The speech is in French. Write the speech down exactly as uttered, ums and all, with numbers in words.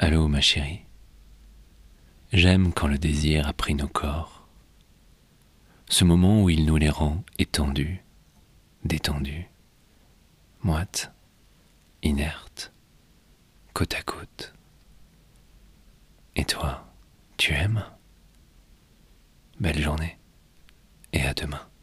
Allô, ma chérie. J'aime quand le désir a pris nos corps, ce moment où il nous les rend étendus, détendus, moites, inertes, côte à côte. Et toi, tu aimes? Belle journée, et à demain.